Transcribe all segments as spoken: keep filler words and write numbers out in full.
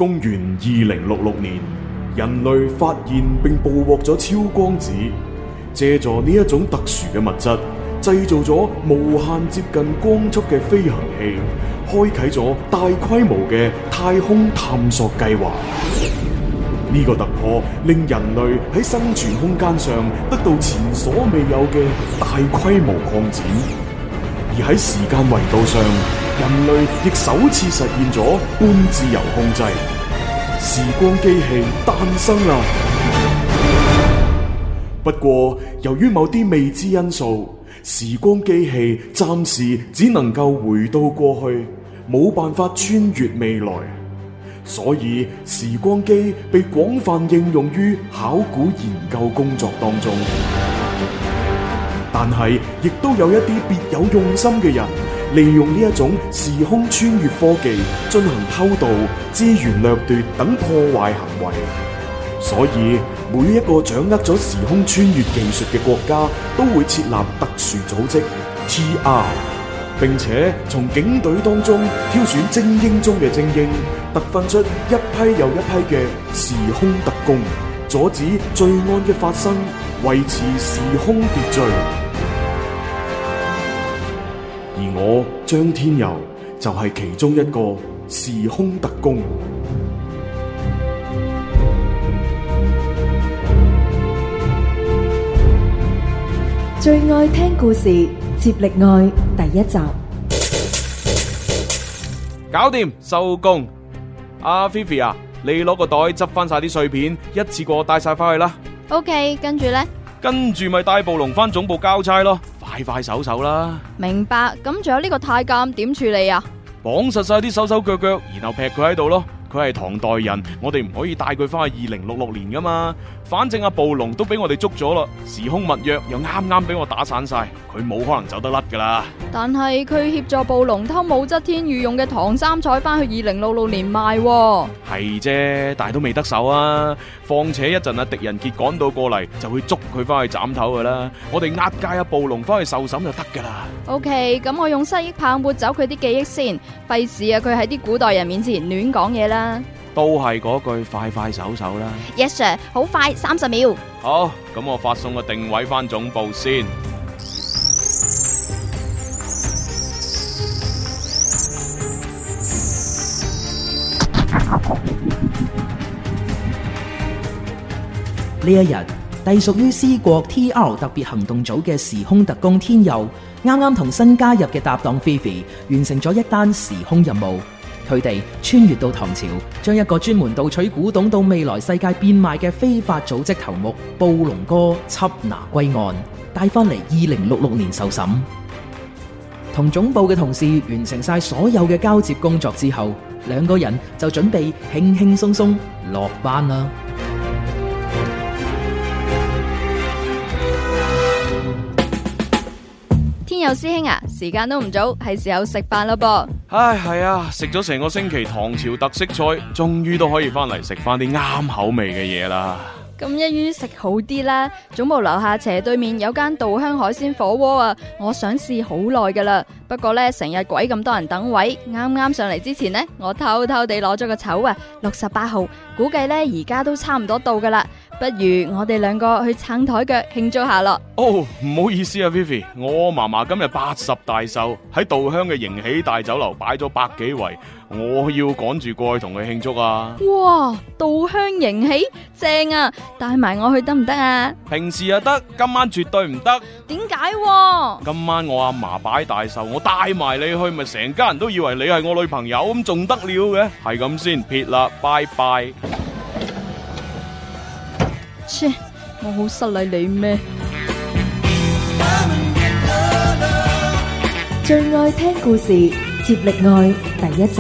公元二零六六年，人類發現並捕獲咗超光子，借助呢一種特殊嘅物質，製造咗無限接近光速嘅飛行器，開啟咗大規模嘅太空探索計劃。呢個突破令人類喺生存空間上得到前所未有嘅大規模擴展，而喺時間維度上，人類亦首次實現咗半自由控制，時光機器誕生啦！不過，由於某啲未知因素，時光機器暫時只能夠回到過去，冇辦法穿越未來。所以時光機被廣泛應用於考古研究工作當中，但係亦都有一啲別有用心嘅人，利用呢一種時空穿越科技進行偷盜、資源掠奪等破壞行為。所以每一個掌握咗時空穿越技術嘅國家都會設立特殊組織 T R， 並且從警隊當中挑選精英中嘅精英，特訓出一批又一批嘅時空特工，阻止罪案嘅發生，維持時空秩序。而我張天佑就係其中一個時空特工。 最愛聽故事，接力愛第一集。 搞掂，收工。阿菲菲啊，你攞個袋執翻晒啲碎片，一次過帶晒翻去啦。 OK， 跟住呢？ 跟住咪帶暴龍翻總部交差咯，快快手手啦。 明白。咁仲有呢個太監點處理啊？ 綁實晒啲手手腳腳，然後劈佢喺度咯。佢係唐代人，我哋唔可以帶佢翻去二零六六年噶嘛。反正阿暴龍都俾我哋捉咗啦，時空密約又啱啱俾我打散晒，佢冇可能走得甩噶啦。 但係佢協助暴龍偷武則天御用嘅唐三彩翻去二零六六年賣喎。 係啫，但係都未得手啊。況且一陣阿狄仁傑趕到過嚟，就會捉佢翻去斬頭噶啦。我哋押解阿暴龍翻去受審就得噶啦。 OK， 咁我用失憶棒抹走佢啲記憶先，費事啊佢喺啲古代人面前亂講嘢啦。 都係嗰句快快手手啦。 Yes sir， 好快，三十秒。 好，咁我發送個定位翻總部先。 呢一日，隸屬於 C 國 T R 特別行動組嘅時空特工天佑，啱啱同新加入嘅搭檔菲菲完成咗一單時空任務。佢哋穿越到唐朝，將一個專門盜取古董到未來世界變賣嘅非法組織頭目暴龍哥緝拿歸案，帶翻嚟二零六六年受審。同總部嘅同事完成晒所有嘅交接工作之後，兩個人就準備輕輕鬆鬆落班啦。 天佑師兄啊，時間都唔早，係時候食飯啦噃。 唉，係啊，食咗成個星期唐朝特色菜，終於都可以翻嚟食翻啲啱口味嘅嘢啦。 咁一於食好啲啦，總部樓下斜對面有間稻香海鮮火鍋啊，我想試好耐噶啦。不過呢，成日鬼咁多人等位，啱啱上嚟之前呢，我偷偷地攞咗個籌啊，六十八號，估計呢而家都差唔多到噶啦。不如我哋兩個去撐台腳慶祝下咯。 哦，唔好意思啊 Vivi， 我嫲嫲今日八十大壽，喺稻香嘅迎喜大酒樓擺咗百幾圍，我要趕住過去同佢慶祝啊。 哇，稻香迎喜正啊，帶埋我去得唔得啊？ 平時又得，今晚絕對唔得。 點解？ 今晚我阿嫲擺大壽，我帶埋你去，咪成家人都以為你係我女朋友，咁仲得了嘅？係咁先，撇啦，拜拜。 切，我好失禮你咩？ 最愛聽故事，接力愛第一集。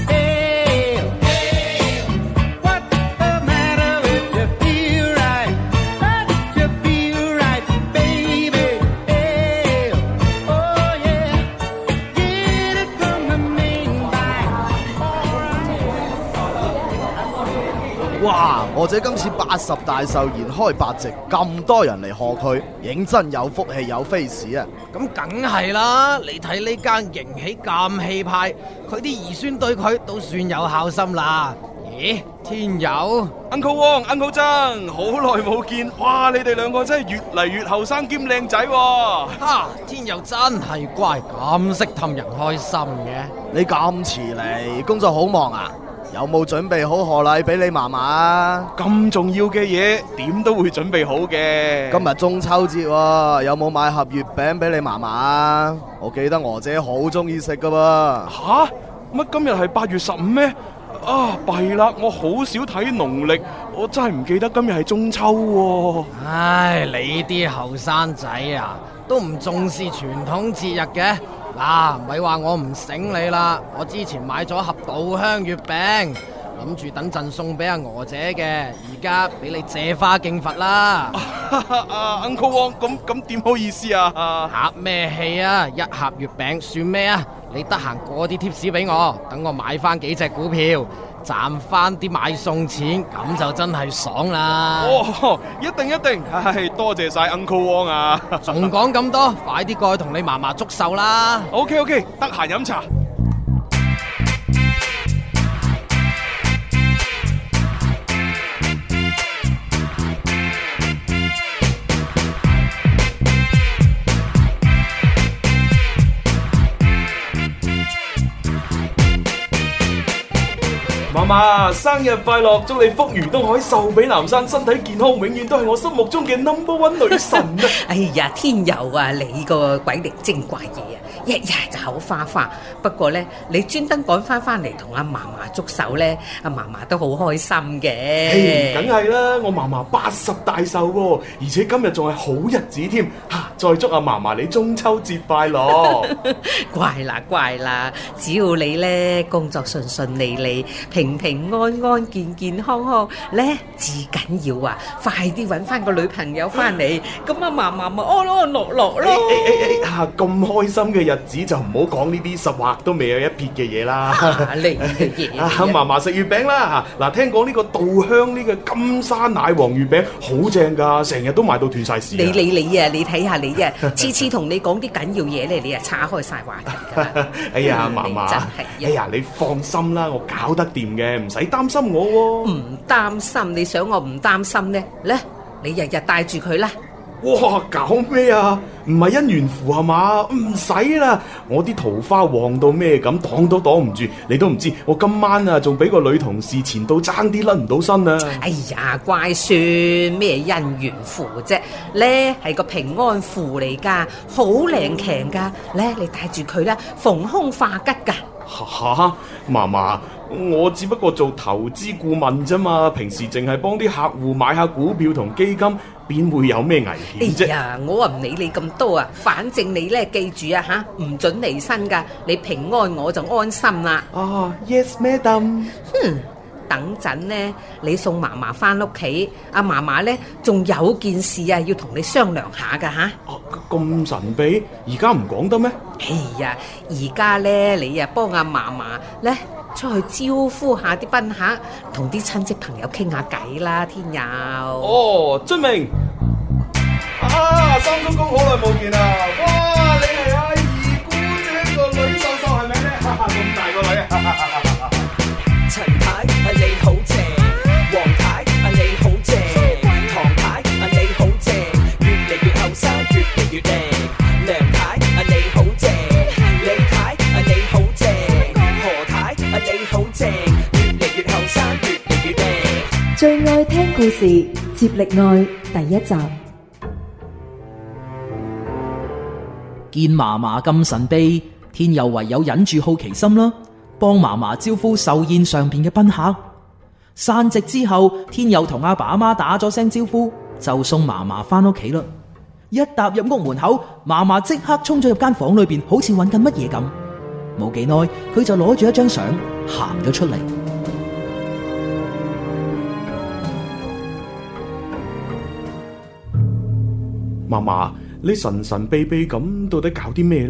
哇！我姐今次八十大壽筵開八席，咁多人嚟賀佢，認真有福氣有 face 啊！ 咁梗係啦，你睇呢間迎喜咁氣派，佢啲兒孫對佢都算有孝心啦。 咦，天佑 Uncle Wong、Uncle 曾，好耐冇見，哇！你哋兩個真係越嚟越後生兼靚仔喎。 哈，天佑真係乖，咁識氹人開心嘅。 你咁遲嚟，工作好忙啊？有冇準備好賀禮俾你嫲嫲啊？ 咁重要嘅嘢，點都會準備好嘅。 今日中秋節喎，有冇買盒月餅俾你嫲嫲啊？我記得娥姐好中意食噶噃。 吓？乜今日係八月十五咩？啊，弊啦！我好少睇農曆，我真係唔記得今日係中秋喎。 唉，你啲後生仔啊，都唔重視傳統節日嘅。嗱，咪話我唔醒你啦，我之前買咗盒稻香月餅，諗住等陣送俾阿娥姐嘅，而家俾你借花敬佛啦。 啊 Uncle Wong，咁咁點好意思啊？ 客咩氣啊？一盒月餅算咩啊？你得閒過啲貼士俾我，等我買翻幾隻股票，賺翻啲買餸錢，咁就真係爽啦！ 哦，一定一定，唉，多謝晒 Uncle Wong 啊！ 仲講咁多，快啲過去同你嫲嫲祝壽啦 ！OK OK， 得閒飲茶。嫲嫲，生日快樂！祝你福如東海，壽比南山，身體健康，永遠都係我心目中嘅 number one 女神啊！ 哎呀，天佑啊，你個鬼靈精怪嘢啊，一日就口花花。不過咧，你專登趕翻翻嚟同阿嫲嫲祝壽咧，阿嫲嫲都好開心嘅。 梗係啦，我嫲嫲八十大壽喎，而且今日仲係好日子添。嚇，再祝阿嫲嫲你中秋節快樂！ 乖啦乖啦，只要你咧工作順順利利，平平安安、健健康康咧，至緊要啊！快啲揾翻個女朋友翻嚟，咁阿嫲嫲咪安安樂樂咯。誒誒誒嚇，咁開心嘅日子就唔好講呢啲十劃都未有一撇嘅嘢啦。 你嘅嘢啊！ 嫲嫲食月餅啦嚇！嗱，聽講呢個稻香呢個金沙奶黃月餅好正㗎，成日都賣到斷晒市。 你你你啊！你睇下你啊，次次同你講啲緊要嘢咧，你啊岔開晒話題㗎。 哎呀，嫲嫲，哎呀，你放心啦，我搞得掂嘅，唔使擔心我喎。 唔擔心，你想我唔擔心呢？咧，你日日帶住佢啦。 哇，搞咩啊？唔係姻緣符係嘛？唔使啦，我啲桃花旺到咩咁，擋都擋唔住。你都唔知，我今晚啊，仲俾個女同事纏到爭啲甩唔到身啊！ 哎呀，乖孫，咩姻緣符啫？咧係個平安符嚟噶，好靈強噶。咧，你帶住佢啦，逢凶化吉噶。 吓，嫲嫲，我只不過做投資顧問啫嘛，平時淨係幫啲客戶買下股票同基金，邊會有咩危險啫？ 哎呀，我啊唔理你咁多啊，反正你咧記住啊吓，唔准離身噶，你平安我就安心啦。 啊 ，Yes madam。 哼，等陣呢，你送嫲嫲翻屋企，阿嫲嫲咧仲有件事啊，要同你商量下噶吓。 哦，咁神秘，而家唔講得咩？ 哎呀，而家咧你啊幫阿嫲嫲咧出去招呼下啲賓客，同啲親戚朋友傾下偈啦，天佑。 哦，遵命。啊，三叔公好耐冇見啦！哇，你係阿二姑姐個女秀秀係咪咧？哈哈，咁大個女啊！ 陳太啊你好正，黃太啊你好正，唐太啊你好正，越嚟越後生越嚟越靚，梁太啊你好正，李太啊你好正，何太啊你好正，越嚟越後生越嚟越靚。 最愛聽故事接力愛第一集。 見嫲嫲咁神秘，天佑唯有忍住好奇心啦，幫嫲嫲招呼壽宴上邊嘅賓客。散席之後，天佑同阿爸阿媽打咗聲招呼，就送嫲嫲翻屋企啦。一踏入屋門口，嫲嫲即刻衝咗入間房裏邊，好似揾緊乜嘢咁。冇幾耐，佢就攞住一張相行咗出嚟。 嫲嫲，你神神秘秘咁，到底搞啲咩呢？ 唉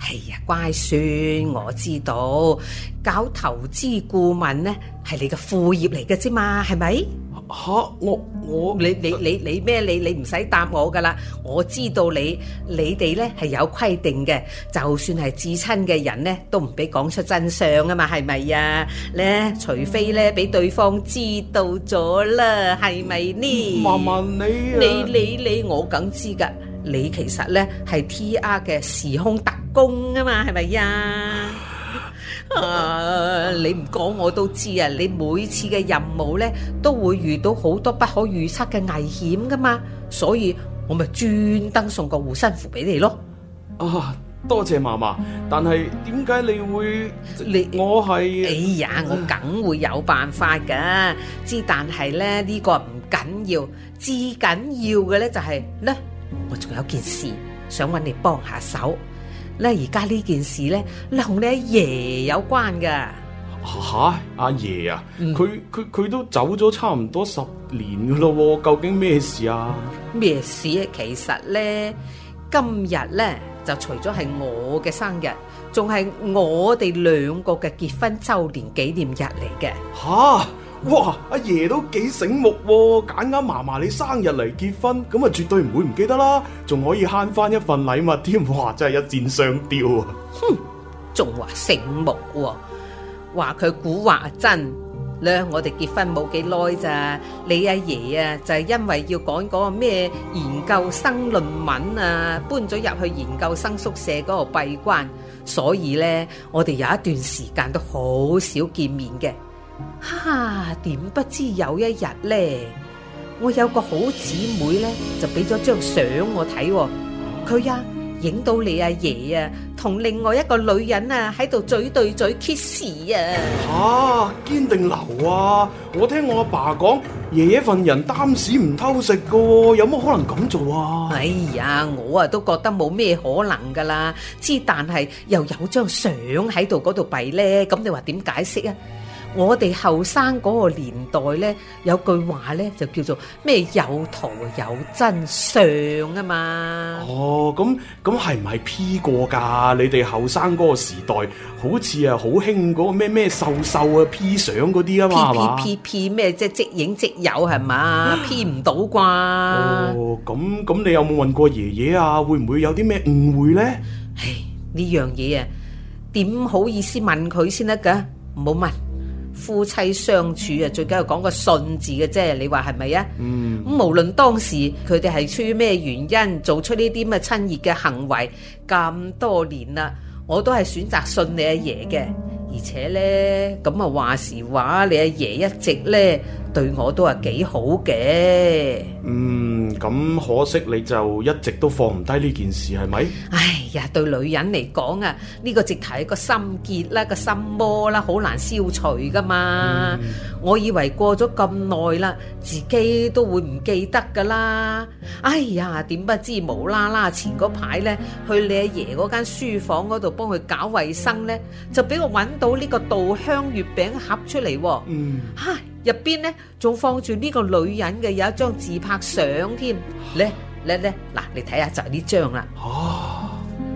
哎呀，乖孫，我知道搞投資顧問呢係你嘅副業嚟嘅啫嘛，係咪？ 吓，我我你你你你咩？你你唔使答我噶啦，我知道你你哋呢係有規定嘅，就算係至親嘅人呢，都唔俾講出真相啊嘛，係咪啊？咧，除非呢俾對方知道咗啦，係咪呢？ 嫲嫲你啊你你你我梗知噶，你其實呢係 T R 嘅時空特工啊嘛，係咪呀？啊！你唔講我都知啊！你每次嘅任務呢，都會遇到好多不可預測嘅危險噶嘛，所以我咪專登送個護身符俾你咯。 啊，多謝嫲嫲，但係點解你會？ 你我係哎呀，我梗會有辦法噶，之但係咧呢個唔緊要，至緊要嘅呢就係呢，我仲有件事想揾你幫下手。咧而家呢件事咧，同你阿爺有關噶。 吓，阿爺啊，佢佢佢都走咗差唔多十年噶咯，究竟咩事啊？ 咩事啊？其實咧，今日咧就除咗係我嘅生日，仲係我哋兩個嘅結婚周年紀念日嚟嘅。 吓！哇！阿爺都幾醒目喎，揀啱嫲嫲你生日嚟結婚，咁啊絕對唔會唔記得啦，仲可以慳翻一份禮物添，哇！真係一箭雙雕啊！ 哼，仲話醒目喎，話佢蠱惑真咧。我哋結婚冇幾耐咋，你阿爺啊就係因為要講嗰個咩研究生論文啊，搬咗入去研究生宿舍嗰度閉關，所以咧我哋有一段時間都好少見面嘅。哈！點不知有一日咧，我有個好姊妹咧，就俾咗張相我睇，佢啊影到你阿爺啊同另外一個女人啊喺度嘴對嘴 kiss 啊！ 吓，堅定流啊！我聽我阿爸講，爺爺份人擔屎唔偷食噶，有乜可能咁做啊？ 哎呀，我啊都覺得冇咩可能噶啦，之但係又有張相喺度嗰度弊咧，咁你話點解釋啊？我哋後生嗰個年代呢，有句話呢，就叫做咩有圖有真相啊嘛。 哦，咁咁係唔係 P 過噶？你哋後生嗰個時代，好似啊好興嗰個咩咩瘦瘦啊 P 相嗰啲啊嘛，係嘛 ？P P P 咩即係即影即有係嘛？P 唔到啩？ 哦，咁咁你有冇問過爺爺啊？會唔會有啲咩誤會呢？ 唉，呢樣嘢啊，點好意思問佢先得噶？唔好問。夫妻相處啊，最緊要講個信字嘅啫，你話係咪啊？嗯，咁無論當時佢哋係出於咩原因做出呢啲咁嘅親熱嘅行為，咁多年啦，我都係選擇信你阿爺嘅。而且咧，咁啊話時話，你阿爺一直咧對我都係幾好嘅。 嗯，咁可惜你就一直都放唔低呢件事，係咪？ 哎呀，對女人嚟講啊，呢個直頭係個心結啦，個心魔啦，好難消除噶嘛。嗯、我以為過咗咁耐啦，自己都會唔記得噶啦。哎呀，點不知無啦啦前嗰排咧，去你阿爺嗰間書房嗰度幫佢搞衛生咧，就俾我揾到呢個稻香月餅盒出嚟。嗯，吓入邊咧仲放住呢個女人嘅有一張自拍相添。咧咧咧，嗱你睇下就係呢張啦。 哦，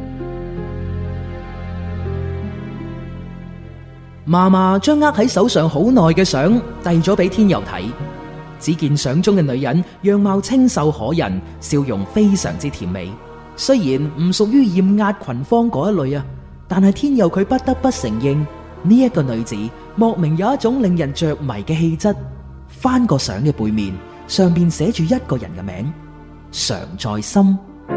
嫲嫲將握喺手上好耐嘅相遞咗俾天佑睇，只見相中嘅女人樣貌清秀可人，笑容非常之甜美。雖然唔屬於艷壓群芳嗰一類啊，但係天佑佢不得不承認呢一個女子莫名有一種令人着迷嘅氣質。翻個相嘅背面，上邊寫住一個人嘅名，常在心。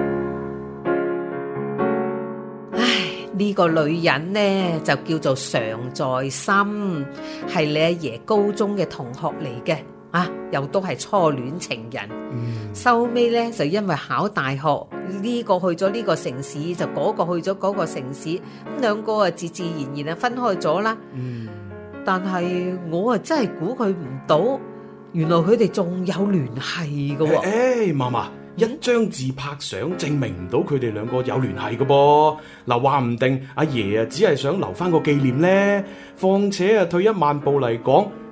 唉，呢個女人呢就叫做常在心，係你阿爺高中嘅同學嚟嘅啊，又都係初戀情人。收尾呢就因為考大學，呢個去咗呢個城市，就嗰個去咗嗰個城市，咁兩個啊自自然然啊分開咗啦。嗯，但係我啊真係估佢唔到，原來佢哋仲有聯繫㗎喎。 誒，嫲嫲，一張自拍相證明唔到佢哋兩個有聯繫㗎噃。嗱，話唔定阿爺啊只係想留翻個紀念呢。況且啊退一萬步嚟講，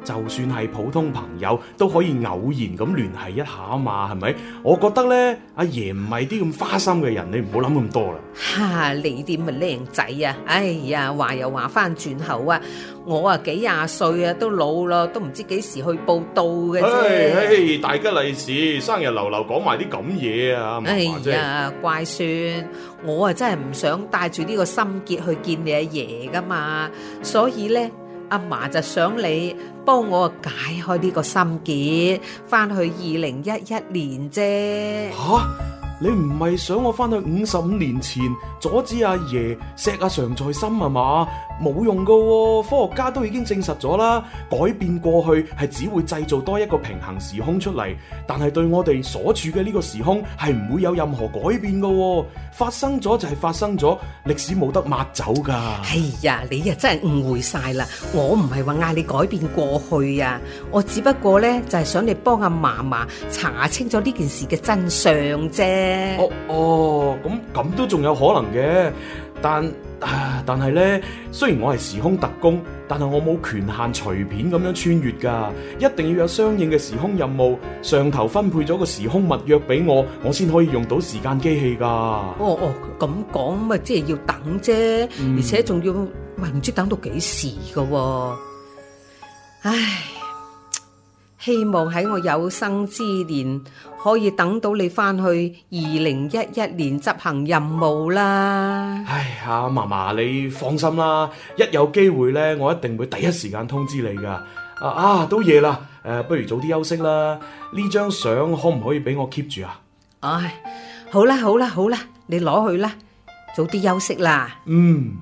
就算係普通朋友都可以偶然咁聯繫一下啊嘛，係咪？我覺得呢，阿爺唔係啲咁花心嘅人，你唔好諗咁多啦。 哈！你啲咪靚仔啊！哎呀，話又話翻轉頭啊！我啊幾廿歲啊，都老啦，都唔知幾時去報到嘅啫。 唉唉，大吉利是，生日流流講埋啲咁嘢啊！ 哎呀，乖孫，我啊真係唔想帶住呢個心結去見你阿爺噶嘛，所以呢，阿嫲就想你幫我解開呢個心結，翻去二零一一年啫。 吓？你唔係想我翻去五十五年前阻止阿爺錫阿常在心啊嘛？冇用噶喎，科學家都已經證實咗啦，改變過去係只會製造多一個平行時空出嚟，但係對我哋所處嘅呢個時空係唔會有任何改變噶喎。發生咗就係發生咗，歷史冇得抹走噶。 哎呀，你啊真係誤會晒啦！我唔係話嗌你改變過去啊，我只不過呢，就係想你幫阿嫲嫲查清咗呢件事嘅真相啫。 哦哦，咁咁都仲有可能嘅，但啊，但係呢，雖然我係時空特工，但係我冇權限隨便咁樣穿越噶，一定要有相應嘅時空任務，上頭分配咗個時空密約俾我，我先可以用到時間機器噶。 哦哦，咁講咪即係要等啫，嗯、而且仲要喂唔知等到幾時噶喎。唉，希望喺我有生之年可以等到你翻去二零一一年執行任務啦。 唉呀，嫲嫲你放心啦，一有機會呢，我一定會第一時間通知你噶。啊啊，都夜啦，誒、呃，不如早啲休息啦。呢張相可唔可以俾我 keep 住啊？ 唉，好啦好啦好啦，你攞去啦，早啲休息啦。 嗯。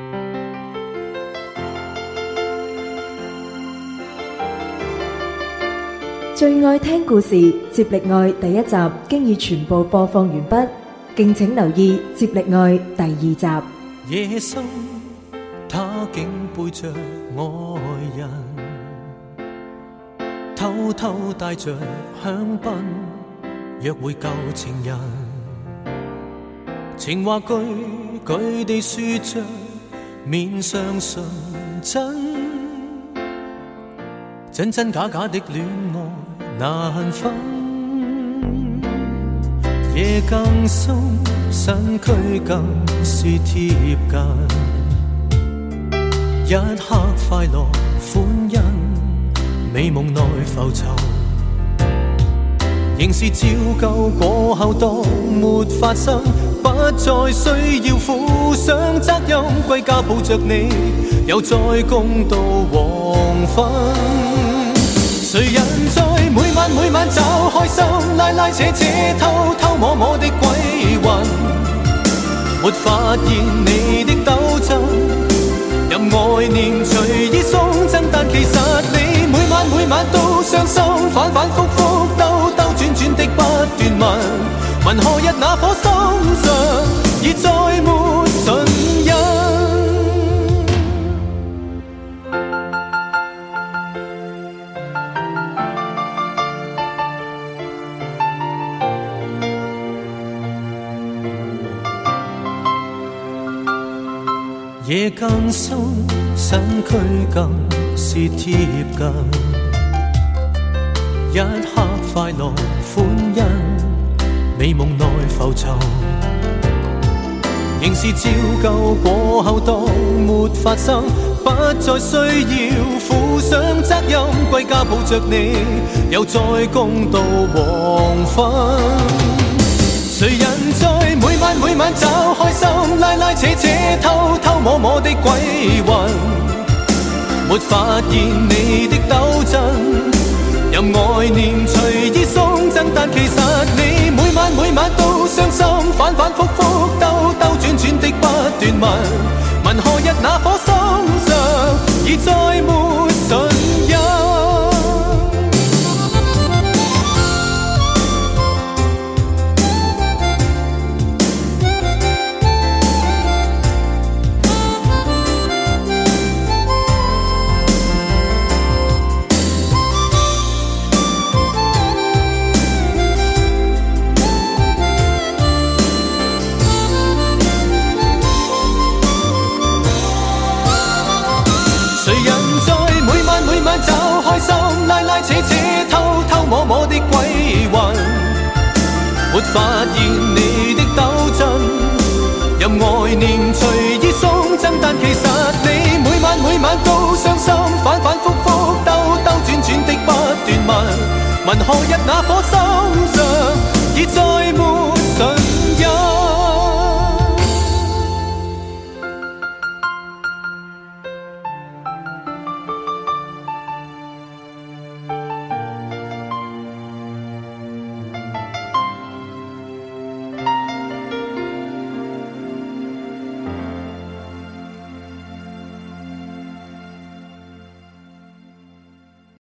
最愛聽故事接力愛第一集經已全部播放完畢，敬請留意接力愛第二集。 夜深，他竟背着愛人，偷偷帶着香檳約會舊情人，情話句句地說着，面上純真，真真假假的戀愛難分，夜更深，身軀更是貼近，一刻快樂歡欣，美夢內浮沉，仍是照舊過後當沒發生，不再需要負上責任，歸家抱着你，又再共度黃昏。誰人在每晚每晚找開心，拉拉扯扯偷偷摸摸的鬼魂，沒發現你的鬥爭，任愛念隨意送贈，但其實你每晚每晚都傷心，反反覆覆兜兜轉轉的不斷問，問何日那顆心上已再沒唇印。夜更深，身軀更是貼近，一刻快樂歡欣，美夢內浮沉，仍是照舊過後當沒發生，不再需要負上責任，歸家抱着你，又再共度黃昏。誰人在每晚每晚找開心，拉拉扯扯偷偷摸摸的鬼魂，沒發現你的鬥爭，任愛念隨意送贈，但其實你每晚每晚都傷心，反反覆覆兜兜轉轉的不斷問，問何日那顆心上已再沒唇印。 似似偷偷摸摸的鬼魂，沒發現你的抖震，任愛念隨意送贈，但其實你每晚每晚都傷心，反反覆覆兜兜轉轉的不斷問，問何日那顆心